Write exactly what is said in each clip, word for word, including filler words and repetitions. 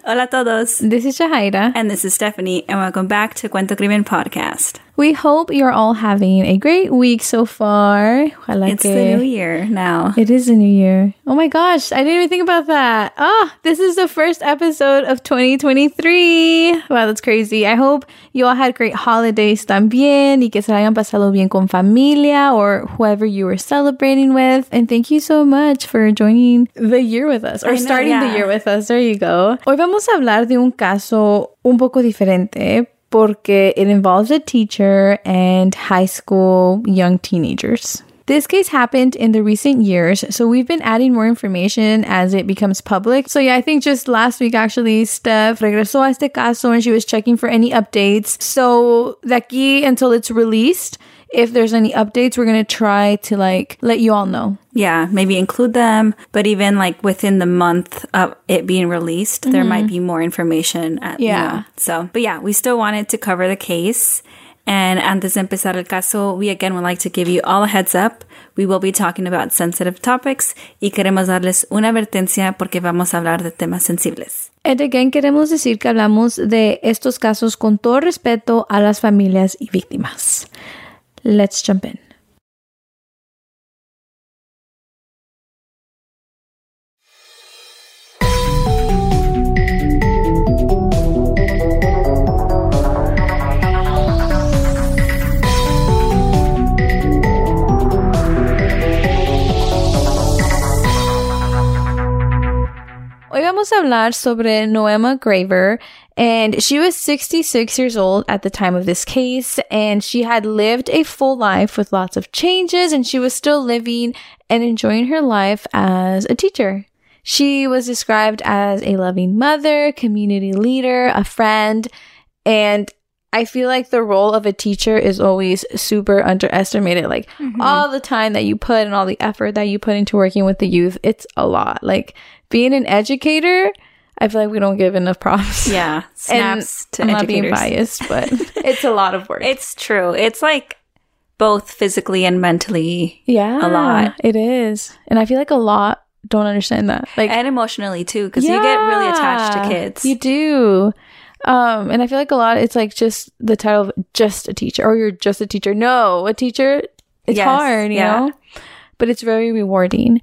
Hola todos. This is Jahaira. And this is Stephanie, and welcome back to Cuento Crimen Podcast. We hope you're all having a great week so far. Ojalá it's que... the new year now. It is the new year. Oh my gosh, I didn't even think about that. Ah, oh, this is the first episode of twenty twenty-three. Wow, that's crazy. I hope you all had great holidays también y que se hayan pasado bien con familia or whoever you were celebrating with. And thank you so much for joining the year with us or know, starting yeah. the year with us. There you go. Hoy vamos a hablar de un caso un poco diferente porque it involves a teacher and high school young teenagers. This case happened in the recent years, so we've been adding more information as it becomes public. So yeah, I think just last week, actually, Steph regresó a este caso and she was checking for any updates. So de aquí until it's released, if there's any updates, we're going to try to like let you all know. Yeah, maybe include them, but even like within the month of it being released, mm-hmm. there might be more information. At, yeah. You know, so, but yeah, we still wanted to cover the case. And antes de empezar el caso, we again would like to give you all a heads up. We will be talking about sensitive topics y queremos darles una advertencia porque vamos a hablar de temas sensibles. And again, queremos decir que hablamos de estos casos con todo respeto a las familias y víctimas. Let's jump in. Hoy vamos a hablar sobre Noema Graver, and she was sixty-six years old at the time of this case, and she had lived a full life with lots of changes, and she was still living and enjoying her life as a teacher. She was described as a loving mother, community leader, a friend, and I feel like the role of a teacher is always super underestimated. Like mm-hmm. all the time that you put and all the effort that you put into working with the youth, it's a lot. Like being an educator, I feel like we don't give enough props. Yeah. Snaps and to I'm educators. not being biased, but it's a lot of work. It's true. It's like both physically and mentally yeah, a lot. It is. And I feel like a lot don't understand that. Like and emotionally too, because yeah, you get really attached to kids. You do. Um, and I feel like a lot, it's like just the title of just a teacher, or you're just a teacher. No, a teacher, it's yes, hard, you yeah. know, but it's very rewarding.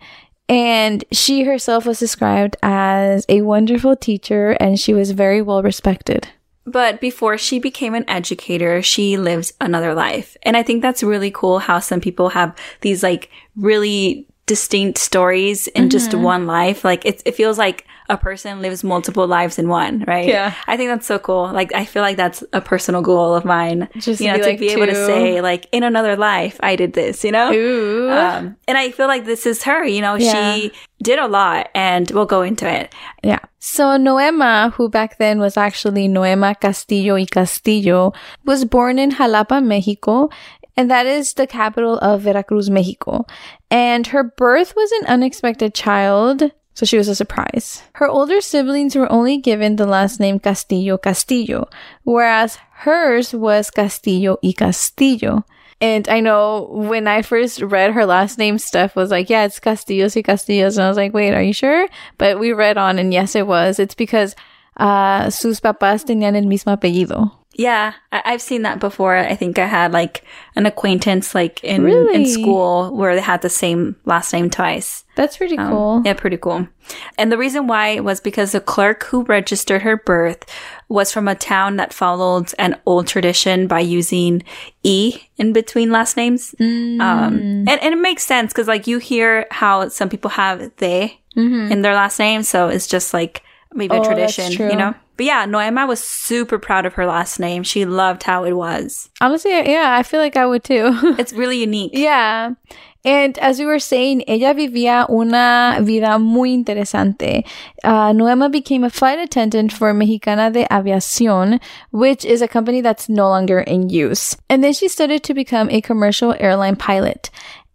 And she herself was described as a wonderful teacher, and she was very well respected. But before she became an educator, she lived another life. And I think that's really cool how some people have these like really distinct stories in mm-hmm. just one life. Like it, it feels like a person lives multiple lives in one, right? Yeah. I think that's so cool. Like, I feel like that's a personal goal of mine. Just you know, to be, to like, be two. able to say, like, in another life, I did this, you know? Ooh. Um, and I feel like this is her, you know? Yeah. She did a lot, and we'll go into it. Yeah. So Noema, who back then was actually Noema Castillo y Castillo, was born in Jalapa, Mexico, and that is the capital of Veracruz, Mexico. And her birth was an unexpected child, so she was a surprise. Her older siblings were only given the last name Castillo Castillo, whereas hers was Castillo y Castillo. And I know when I first read her last name, Steph was like, yeah, it's Castillos y Castillos. And I was like, wait, are you sure? But we read on, and yes, it was. It's because uh, sus papás tenían el mismo apellido. Yeah, I- I've seen that before. I think I had like an acquaintance like in, really? in school where they had the same last name twice. That's pretty Um, cool. Yeah, pretty cool. And the reason why was because the clerk who registered her birth was from a town that followed an old tradition by using E in between last names. Mm. Um, and, and it makes sense because like you hear how some people have they Mm-hmm. in their last name. So it's just like maybe Oh, a that's tradition, true. you know? But yeah, Noema was super proud of her last name. She loved how it was. Honestly, yeah, I feel like I would too. It's really unique. Yeah. And as we were saying, ella vivía una vida muy interesante. Uh, Noema became a flight attendant for Mexicana de Aviación, which is a company that's no longer in use. And then she studied to become a commercial airline pilot.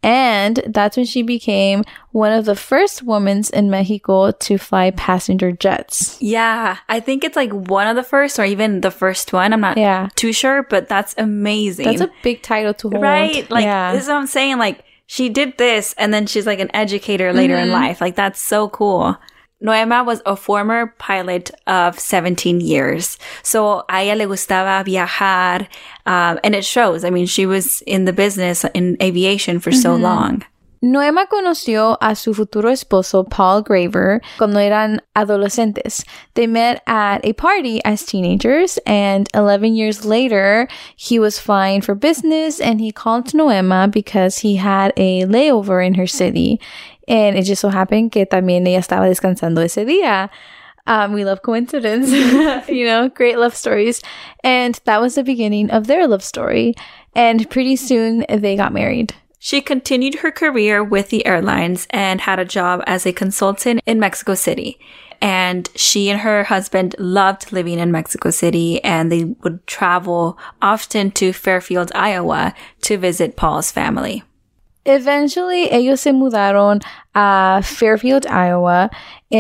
And that's when she became one of the first women in Mexico to fly passenger jets. Yeah, I think it's like one of the first or even the first one. I'm not Yeah. too sure, but that's amazing. That's a big title to hold. right? Like, yeah. this is what I'm saying. Like, she did this and then she's like an educator later Mm-hmm. in life. Like, that's so cool. Noema was a former pilot of seventeen years. So a ella le gustaba viajar, um, and it shows. I mean, she was in the business, in aviation for so mm-hmm. long. Noema conoció a su futuro esposo, Paul Graver, cuando eran adolescentes. They met at a party as teenagers, and eleven years later, he was flying for business, and he called Noema because he had a layover in her city. And it just so happened que también ella estaba descansando ese día. Um, we love coincidence, you know, great love stories. And that was the beginning of their love story. And pretty soon, they got married. She continued her career with the airlines and had a job as a consultant in Mexico City. And she and her husband loved living in Mexico City, and they would travel often to Fairfield, Iowa to visit Paul's family. Eventually, ellos se mudaron a Fairfield, Iowa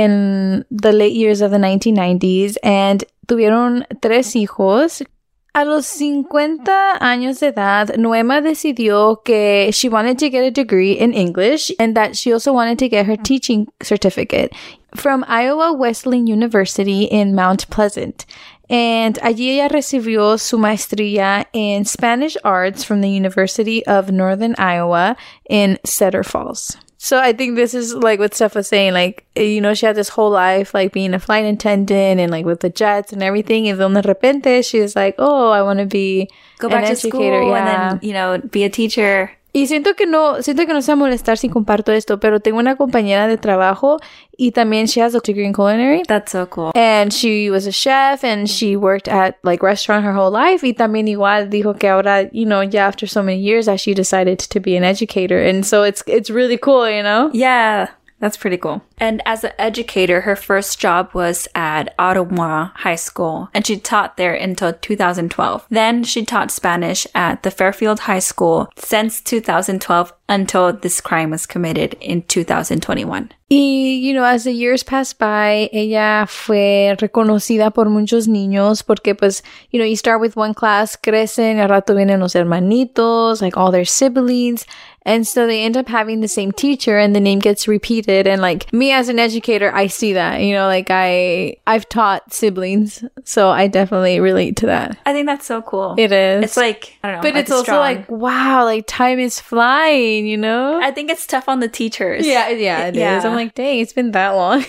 in the late years of the nineteen nineties, and tuvieron tres hijos. A los cincuenta años de edad, Noema decidió que she wanted to get a degree in English and that she also wanted to get her teaching certificate from Iowa Wesleyan University in Mount Pleasant. And allí ella recibió su maestría in Spanish Arts from the University of Northern Iowa in Cedar Falls. So I think this is like what Steph was saying, like, you know, she had this whole life, like being a flight attendant and like with the jets and everything. And then de repente, she was like, oh, I want to be Go back an to educator. school Yeah. and then, you know, be a teacher. Y siento que no, siento que no se va a molestar si comparto esto, pero tengo una compañera de trabajo y también she has a degree in culinary. That's so cool. And she was a chef and she worked at like restaurant her whole life. Y también igual dijo que ahora, you know, yeah, after so many years that she decided to be an educator. And so it's, it's really cool, you know? Yeah. That's pretty cool. And as an educator, her first job was at Ottawa High School, and she taught there until two thousand twelve. Then she taught Spanish at the Fairfield High School since two thousand twelve until this crime was committed in two thousand twenty-one. Y, you know, as the years passed by, ella fue reconocida por muchos niños porque, pues, you know, you start with one class, crecen, al rato vienen los hermanitos, like all their siblings. And so they end up having the same teacher and the name gets repeated. And like me as an educator, I see that, you know, like I, I've taught siblings. So I definitely relate to that. I think that's so cool. It is. It's like, I don't know. But like it's also strong. like, wow, like time is flying, you know? I think it's tough on the teachers. Yeah, yeah, it yeah. is. I'm like, dang, it's been that long.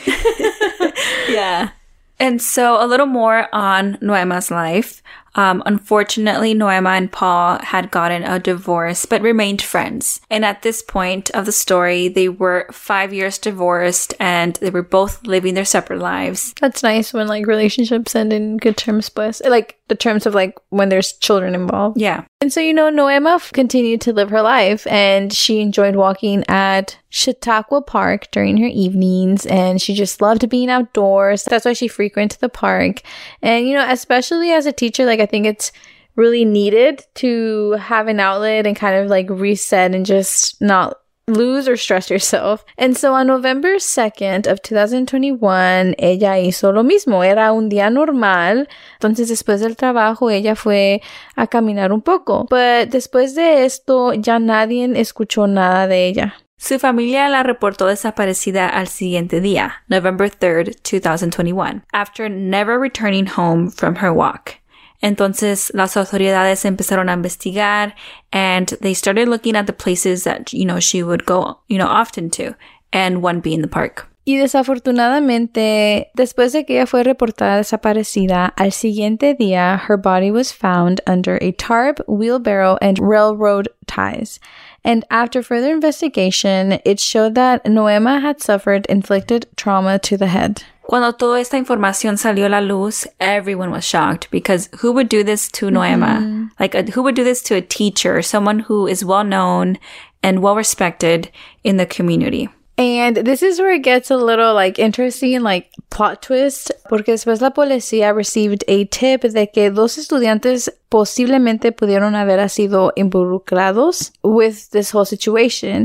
Yeah. And so a little more on Noema's life. Um, unfortunately, Noema and Paul had gotten a divorce, but remained friends. And at this point of the story, they were five years divorced and they were both living their separate lives. That's nice when like relationships end in good terms, pues. Like the terms of like when there's children involved. Yeah. And so, you know, Noema f- continued to live her life and she enjoyed walking at Chautauqua Park during her evenings and she just loved being outdoors. That's why she frequented the park. And, you know, especially as a teacher, like I think it's really needed to have an outlet and kind of like reset and just not lose or stress yourself. And so on November second of two thousand twenty-one, ella hizo lo mismo. Era un día normal. Entonces, después del trabajo, ella fue a caminar un poco. But después de esto, ya nadie escuchó nada de ella. Su familia la reportó desaparecida al siguiente día, November third, two thousand twenty-one, after never returning home from her walk. Entonces, las autoridades empezaron a investigar and they started looking at the places that, you know, she would go, you know, often to, and one being the park. Y desafortunadamente, después de que ella fue reportada desaparecida, al siguiente día, her body was found under a tarp, wheelbarrow, and railroad ties. And after further investigation, it showed that Noema had suffered inflicted trauma to the head. Cuando toda esta información salió a la luz, everyone was shocked because who would do this to Noema? Mm-hmm. Like, a, who would do this to a teacher, someone who is well known and well respected in the community? And this is where it gets a little, like, interesting, like, plot twist, porque después la policía received a tip de que dos estudiantes posiblemente pudieron haber sido involucrados with this whole situation.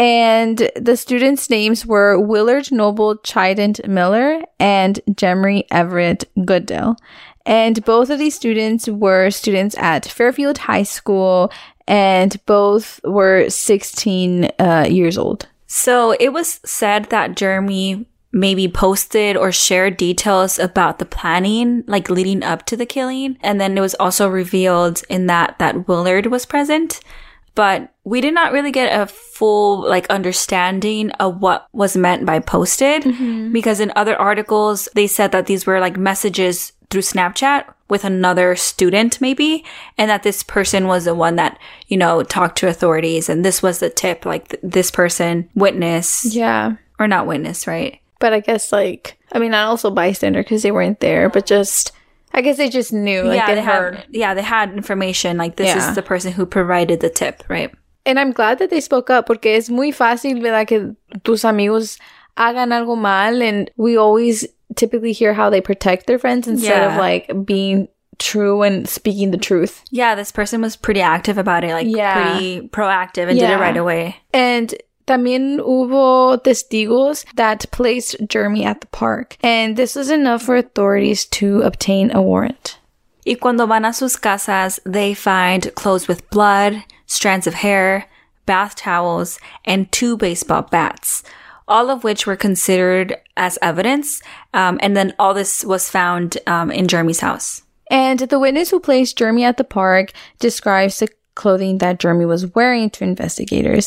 And the students' names were Willard Noble Chident Miller and Jemery Everett Goodell. And both of these students were students at Fairfield High School, and both were sixteen uh, years old. So it was said that Jeremy maybe posted or shared details about the planning, like leading up to the killing. And then it was also revealed in that that Willard was present. But we did not really get a full like understanding of what was meant by posted, mm-hmm. because in other articles, they said that these were like messages through Snapchat with another student maybe, and that this person was the one that, you know, talked to authorities, and this was the tip, like th- this person witnessed. Yeah. Or not witness, right? But I guess like, I mean, not also bystander because they weren't there, but just... I guess they just knew, like, yeah, they, they heard. Had, yeah, they had information, like, this yeah. is the person who provided the tip, right? And I'm glad that they spoke up, porque es muy fácil, ¿verdad? Que tus amigos hagan algo mal, and we always typically hear how they protect their friends instead yeah. of, like, being true and speaking the truth. Yeah, this person was pretty active about it, like, yeah. pretty proactive, and yeah. did it right away. And... También hubo testigos that placed Jeremy at the park, and this was enough for authorities to obtain a warrant. Y cuando van a sus casas, they find clothes with blood, strands of hair, bath towels, and two baseball bats, all of which were considered as evidence, um, and then all this was found um, in Jeremy's house. And the witness who placed Jeremy at the park describes the clothing that Jeremy was wearing to investigators.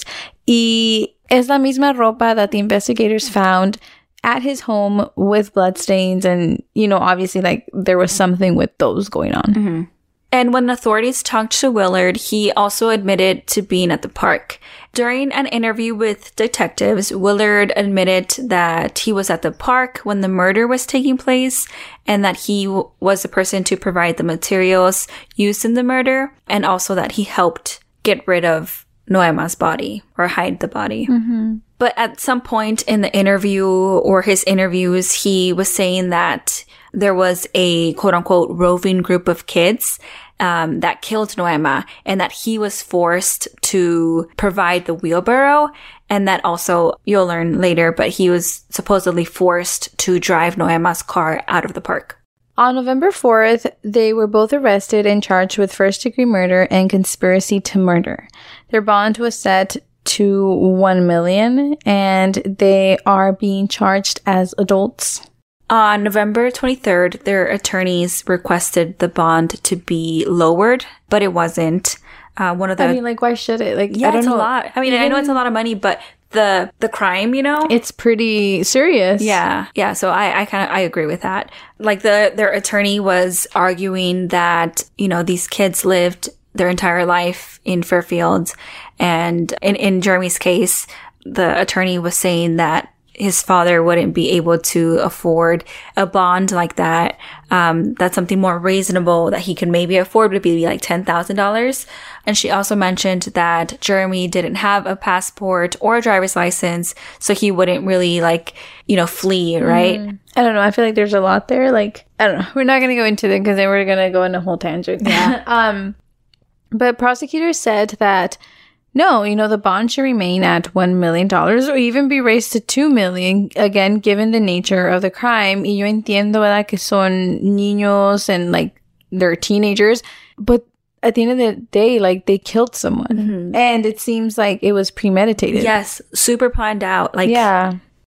Y es la misma ropa that the investigators found at his home with bloodstains, and, you know, obviously, like, there was something with those going on. Mm-hmm. And when authorities talked to Willard, he also admitted to being at the park. During an interview with detectives, Willard admitted that he was at the park when the murder was taking place, and that he w- was the person to provide the materials used in the murder, and also that he helped get rid of Noema's body, or hide the body. Mm-hmm. But at some point in the interview or his interviews, he was saying that there was a quote-unquote roving group of kids um, that killed Noema, and that he was forced to provide the wheelbarrow, and that also, you'll learn later, but he was supposedly forced to drive Noema's car out of the park. On November fourth, they were both arrested and charged with first-degree murder and conspiracy to murder. Their bond was set to one million dollars, and they are being charged as adults. On November twenty-third, their attorneys requested the bond to be lowered, but it wasn't. Uh, one of the I mean, like, why should it? Like, yeah, I don't it's know. a lot. I mean, Even... I know it's a lot of money, but the the crime, you know, it's pretty serious. Yeah, yeah. So I, I kind of I agree with that. Like the their attorney was arguing that, you know, these kids lived their entire life in Fairfield, and in in Jeremy's case, the attorney was saying that his father wouldn't be able to afford a bond like that. Um, that's something more reasonable that he could maybe afford would be like ten thousand dollars. And she also mentioned that Jeremy didn't have a passport or a driver's license, so he wouldn't really, like, you know, flee, right? Mm. I don't know. I feel like there's a lot there. Like, I don't know. We're not going to go into it because then we're going to go in a whole tangent. Yeah. um, but prosecutors said that no, you know, the bond should remain at one million dollars or even be raised to two million dollars, again, given the nature of the crime. Y yo entiendo, ¿verdad?, que son niños and, like, they're teenagers. But at the end of the day, like, they killed someone. Mm-hmm. And it seems like it was premeditated. Yes, super planned out. Like, yeah.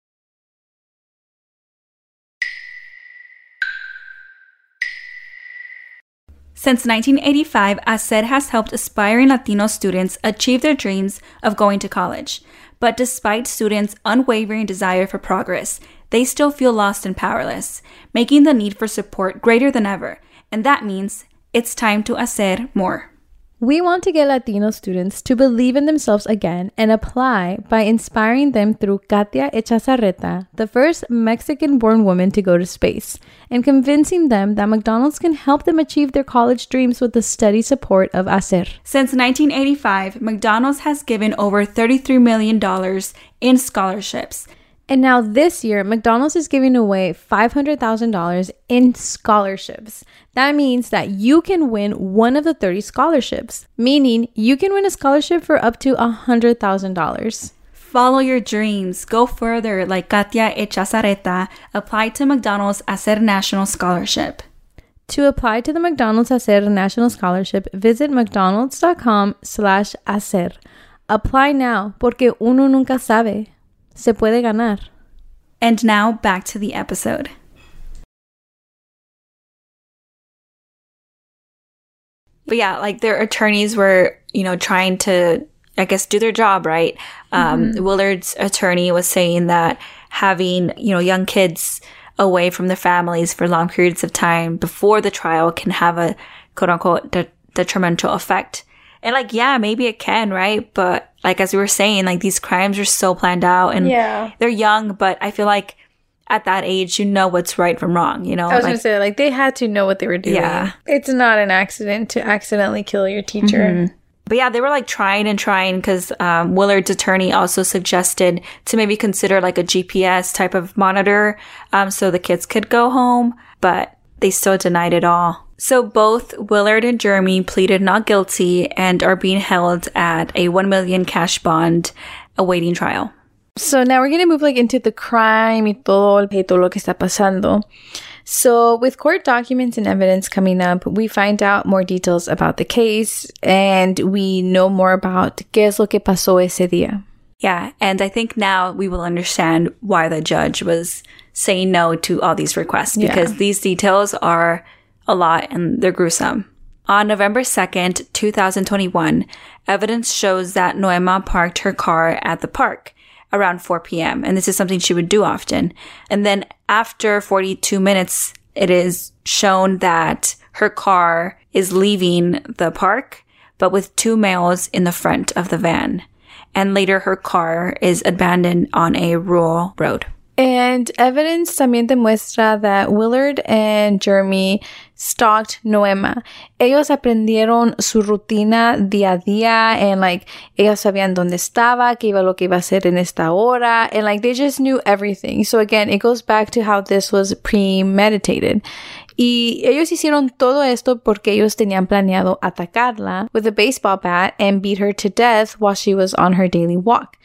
Since nineteen eighty-five, ASER has helped aspiring Latino students achieve their dreams of going to college. But despite students' unwavering desire for progress, they still feel lost and powerless, making the need for support greater than ever. And that means it's time to hacer more. We want to get Latino students to believe in themselves again and apply by inspiring them through Katia Echazarreta, the first Mexican-born woman to go to space, and convincing them that McDonald's can help them achieve their college dreams with the steady support of ASER. Since nineteen eighty-five, McDonald's has given over thirty-three million dollars in scholarships. And now this year, McDonald's is giving away five hundred thousand dollars in scholarships. That means that you can win one of the thirty scholarships, meaning you can win a scholarship for up to one hundred thousand dollars. Follow your dreams. Go further like Katia Echazarreta. Apply to McDonald's ASER National Scholarship. To apply to the McDonald's ASER National Scholarship, visit mcdonalds.com slash ASER. Apply now, porque uno nunca sabe. Se puede ganar. And now back to the episode. But yeah, like their attorneys were, you know, trying to, I guess, do their job, right? Um, mm-hmm. Willard's attorney was saying that having, you know, young kids away from their families for long periods of time before the trial can have a quote unquote de- detrimental effect. And like, yeah, maybe it can, right? But like, as we were saying, like these crimes are so planned out and yeah. they're young, but I feel like at that age, you know what's right from wrong, you know? I was like, going to say, like, they had to know what they were doing. Yeah. It's not an accident to accidentally kill your teacher. Mm-hmm. But yeah, they were like trying and trying because um, Willard's attorney also suggested to maybe consider like a G P S type of monitor um, so the kids could go home, but they still denied it all. So both Willard and Jeremy pleaded not guilty and are being held at a one million cash bond awaiting trial. So now we're going to move like into the crime y todo, y todo lo que está pasando. So with court documents and evidence coming up, we find out more details about the case and we know more about qué es lo que pasó ese día. Yeah, and I think now we will understand why the judge was saying no to all these requests because yeah. these details are a lot and they're gruesome. On November second, twenty twenty-one, evidence shows that Noema parked her car at the park around four p.m. And this is something she would do often. And then after forty-two minutes, it is shown that her car is leaving the park, but with two males in the front of the van. And later her car is abandoned on a rural road. And evidence también demuestra that Willard and Jeremy stalked Noema. Ellos aprendieron su rutina día a día and like ellos sabían dónde estaba, qué iba lo que iba a hacer en esta hora, and like they just knew everything. So again, it goes back to how this was premeditated. Y ellos hicieron todo esto porque ellos tenían planeado atacarla with a baseball bat and beat her to death while she was on her daily walk.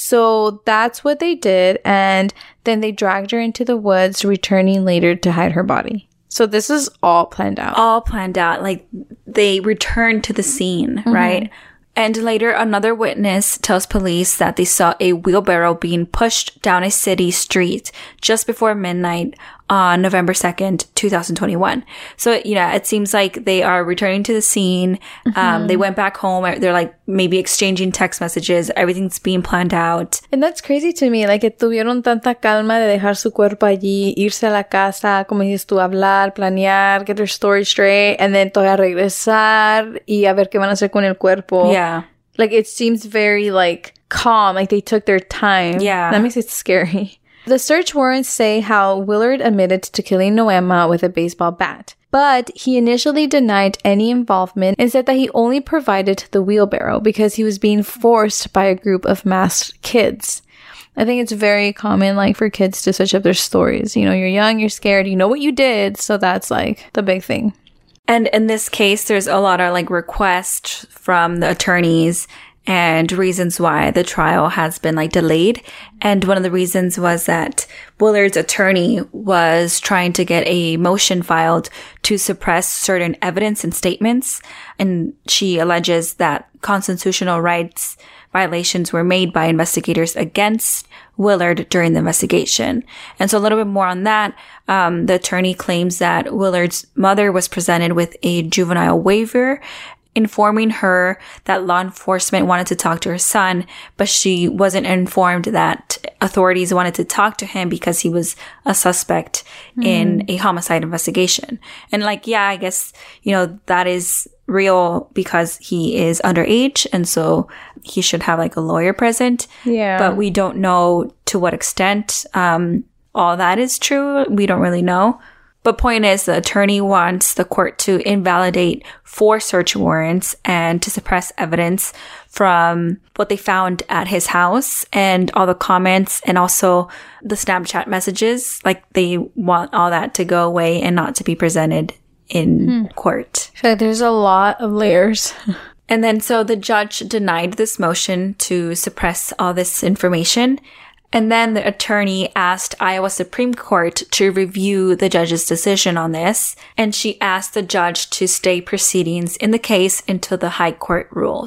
So that's what they did, and then they dragged her into the woods, returning later to hide her body. So this is all planned out. All planned out. Like, they returned to the scene, mm-hmm. right? And later, another witness tells police that they saw a wheelbarrow being pushed down a city street just before midnight on November second, twenty twenty-one. So, you know, it seems like they are returning to the scene. Mm-hmm. Um, they went back home. They're like maybe exchanging text messages. Everything's being planned out. And that's crazy to me. Like, que tuvieron tanta calma de dejar su cuerpo allí, irse a la casa, como dices tú, hablar, planear, get their story straight, and then todavía regresar y a ver qué van a hacer con el cuerpo. Yeah. Like, it seems very, like, calm. Like, they took their time. Yeah. That makes it scary. The search warrants say how Willard admitted to killing Noema with a baseball bat, but he initially denied any involvement and said that he only provided the wheelbarrow because he was being forced by a group of masked kids. I think it's very common, like, for kids to switch up their stories. You know, you're young, you're scared, you know what you did, so that's, like, the big thing. And in this case, there's a lot of, like, requests from the attorneys and reasons why the trial has been like delayed. And one of the reasons was that Willard's attorney was trying to get a motion filed to suppress certain evidence and statements. And she alleges that constitutional rights violations were made by investigators against Willard during the investigation. And so a little bit more on that. Um, the attorney claims that Willard's mother was presented with a juvenile waiver informing her that law enforcement wanted to talk to her son, but she wasn't informed that authorities wanted to talk to him because he was a suspect mm. in a homicide investigation. And like, yeah, I guess, you know, that is real because he is underage, and so he should have like a lawyer present. Yeah. But we don't know to what extent um, all that is true. We don't really know. But point is, the attorney wants the court to invalidate four search warrants and to suppress evidence from what they found at his house and all the comments and also the Snapchat messages. Like, they want all that to go away and not to be presented in hmm. court. So there's a lot of layers. And then so the judge denied this motion to suppress all this information. And then the attorney asked Iowa Supreme Court to review the judge's decision on this. And she asked the judge to stay proceedings in the case until the high court rules.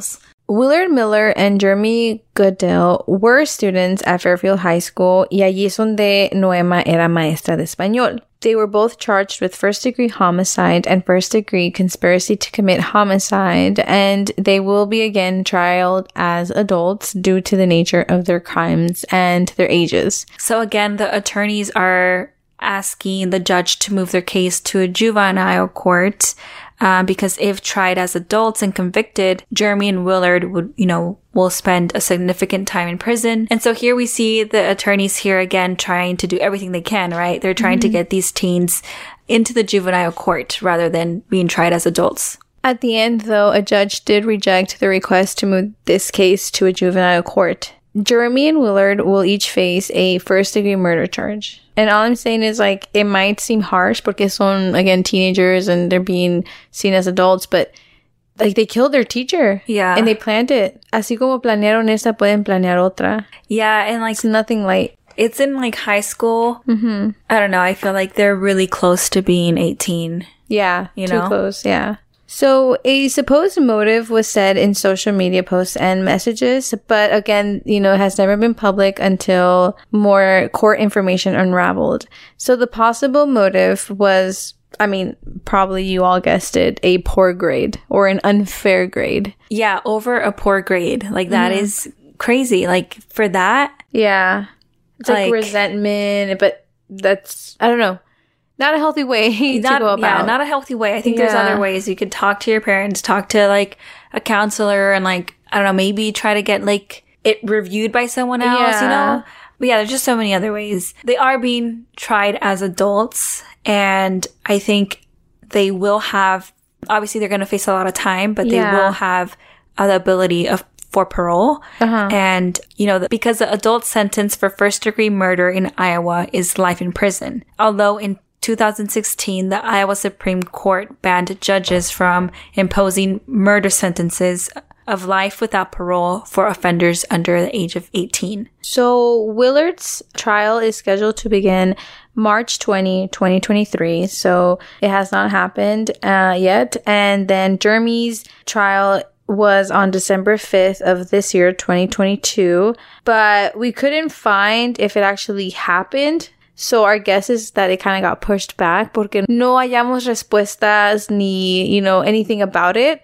Willard Miller and Jeremy Goodell were students at Fairfield High School, y allí es donde Noema era maestra de español. They were both charged with first-degree homicide and first-degree conspiracy to commit homicide, and they will be again trialed as adults due to the nature of their crimes and their ages. So again, the attorneys are asking the judge to move their case to a juvenile court. Uh, because if tried as adults and convicted, Jeremy and Willard would, you know, will spend a significant time in prison. And so here we see the attorneys here again trying to do everything they can, right? They're trying mm-hmm. to get these teens into the juvenile court rather than being tried as adults. At the end, though, a judge did reject the request to move this case to a juvenile court. Jeremy and Willard will each face a first-degree murder charge. And all I'm saying is, like, it might seem harsh porque son, again, teenagers and they're being seen as adults, but, like, they killed their teacher. Yeah. And they planned it. Así como planearon esta, pueden planear otra. Yeah, and, like... It's nothing light. It's in, like, high school. Mm-hmm. I don't know. I feel like they're really close to being eighteen. Yeah. You too know? close, yeah. So a supposed motive was said in social media posts and messages, but again, you know, it has never been public until more court information unraveled. So the possible motive was, I mean, probably you all guessed it, a poor grade or an unfair grade. Yeah, over a poor grade. Like, that mm-hmm. is crazy. Like, for that. Yeah. It's like, like resentment, but that's, I don't know. Not a healthy way not, to go about. Yeah, not a healthy way. I think yeah. there's other ways. You could talk to your parents, talk to, like, a counselor, and, like, I don't know, maybe try to get, like, it reviewed by someone else, yeah. you know? But yeah, there's just so many other ways. They are being tried as adults, and I think they will have, obviously they're going to face a lot of time, but yeah. they will have uh, the ability of for parole. Uh-huh. And, you know, because the adult sentence for first-degree murder in Iowa is life in prison. Although in two thousand sixteen, the Iowa Supreme Court banned judges from imposing murder sentences of life without parole for offenders under the age of eighteen. So Willard's trial is scheduled to begin March twentieth, twenty twenty-three. So it has not happened uh, yet. And then Jeremy's trial was on December fifth of this year, twenty twenty-two. But we couldn't find if it actually happened. So our guess is that it kind of got pushed back porque no hallamos respuestas ni, you know, anything about it.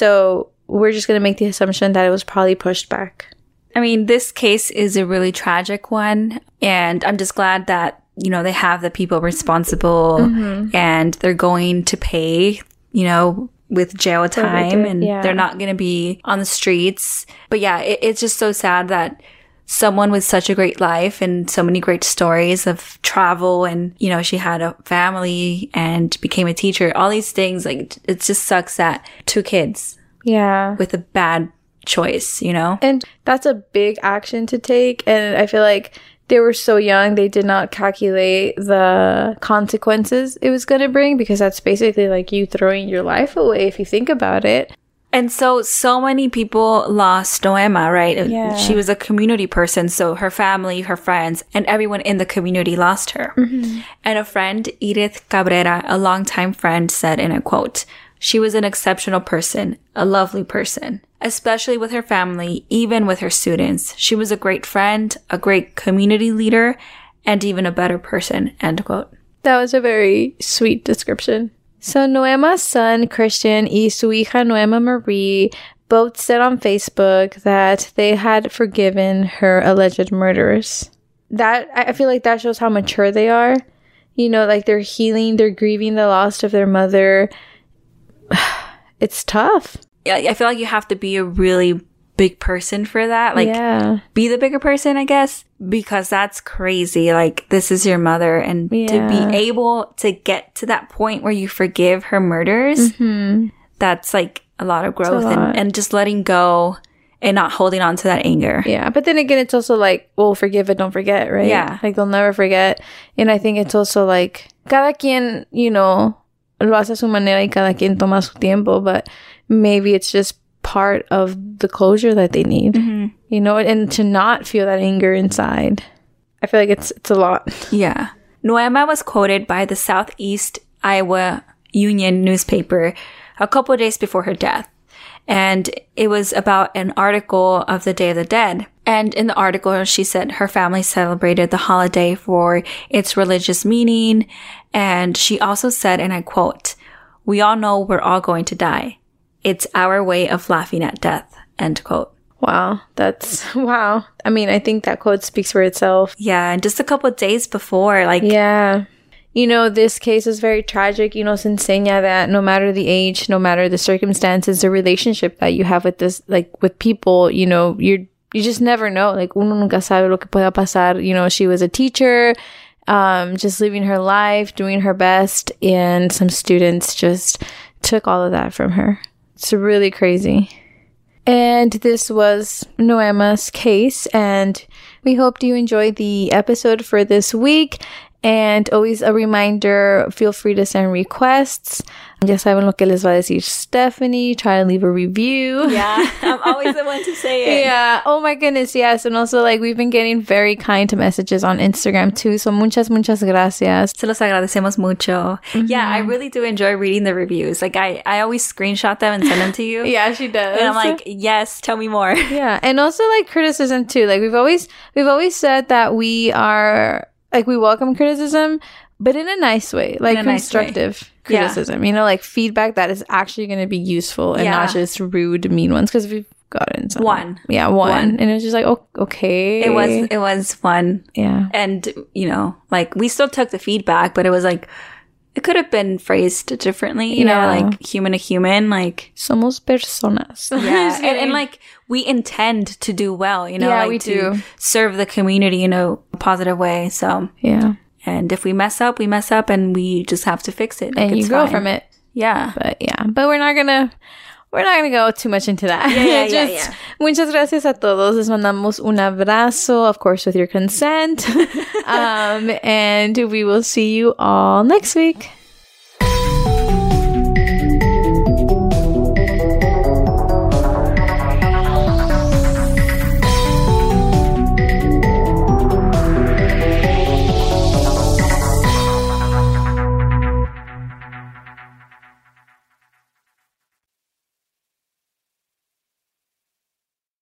So we're just going to make the assumption that it was probably pushed back. I mean, this case is a really tragic one. And I'm just glad that, you know, they have the people responsible mm-hmm. and they're going to pay, you know, with jail time and yeah. they're not going to be on the streets. But yeah, it, it's just so sad that someone with such a great life and so many great stories of travel and, you know, she had a family and became a teacher, all these things, like, it just sucks that two kids yeah with a bad choice, you know? And that's a big action to take. And I feel like they were so young, they did not calculate the consequences it was going to bring, because that's basically like you throwing your life away if you think about it. And so, so many people lost Noema, right? Yeah. She was a community person, so her family, her friends, and everyone in the community lost her. Mm-hmm. And a friend, Edith Cabrera, a longtime friend, said in a quote, "She was an exceptional person, a lovely person, especially with her family, even with her students. She was a great friend, a great community leader, and even a better person," end quote. That was a very sweet description. So Noema's son, Christian, y su hija Noema Marie both said on Facebook that they had forgiven her alleged murderers. That, I feel like that shows how mature they are. You know, like they're healing, they're grieving the loss of their mother. It's tough. Yeah, I feel like you have to be a really big person for that. Like, yeah. be the bigger person, I guess, because that's crazy. Like, this is your mother, and yeah. to be able to get to that point where you forgive her murders, mm-hmm. that's like a lot of growth lot. And, and just letting go and not holding on to that anger. Yeah, but then again, it's also like, well, forgive it, don't forget, right? Yeah. Like, they'll never forget. And I think it's also like, cada quien, you know, lo hace a su manera y cada quien toma su tiempo, but maybe it's just part of the closure that they need, mm-hmm. you know, and to not feel that anger inside. I feel like it's it's a lot. Yeah. Noema was quoted by the Southeast Iowa Union newspaper a couple of days before her death. And it was about an article of the Day of the Dead. And in the article, she said her family celebrated the holiday for its religious meaning. And she also said, and I quote, "We all know we're all going to die. It's our way of laughing at death," end quote. Wow. That's, wow. I mean, I think that quote speaks for itself. Yeah. And just a couple of days before, like. Yeah. You know, this case is very tragic. You know, se enseña that no matter the age, no matter the circumstances, the relationship that you have with this, like with people, you know, you're, you just never know. Like, uno nunca sabe lo que pueda pasar. You know, she was a teacher, um, just living her life, doing her best. And some students just took all of that from her. It's really crazy. And this was Noema's case. And we hope you enjoyed the episode for this week. And always a reminder, feel free to send requests. Ya saben lo que les va a decir Stephanie. Try to leave a review. Yeah, I'm always the one to say it. Yeah. Oh my goodness, yes. And also, like, we've been getting very kind messages on Instagram too. So muchas, muchas gracias. Se los agradecemos mucho. Mm-hmm. Yeah, I really do enjoy reading the reviews. Like, I, I always screenshot them and send them to you. Yeah, she does. And I'm like, yes, tell me more. Yeah. And also, like, criticism too. Like, we've always, we've always said that we are... Like, we welcome criticism, but in a nice way. Like, constructive nice way. criticism. Yeah. You know, like, feedback that is actually going to be useful and yeah. not just rude, mean ones. Because we've gotten some. One. Yeah, one. one. And it was just like, oh, okay. It was, it was fun. Yeah. And, you know, like, we still took the feedback, but it was like, it could have been phrased differently, you yeah. know, like, human to human, like. Somos personas. Yeah. and, and, like, we intend to do well, you know, yeah, like, we to do. serve the community in a positive way. So, yeah. And if we mess up, we mess up and we just have to fix it. Like, and you grow fine. from it. Yeah. But, yeah. But we're not going to. We're not going to go too much into that. Yeah, yeah, Just, yeah, yeah. Muchas gracias a todos. Les mandamos un abrazo, of course, with your consent. um, and we will see you all next week.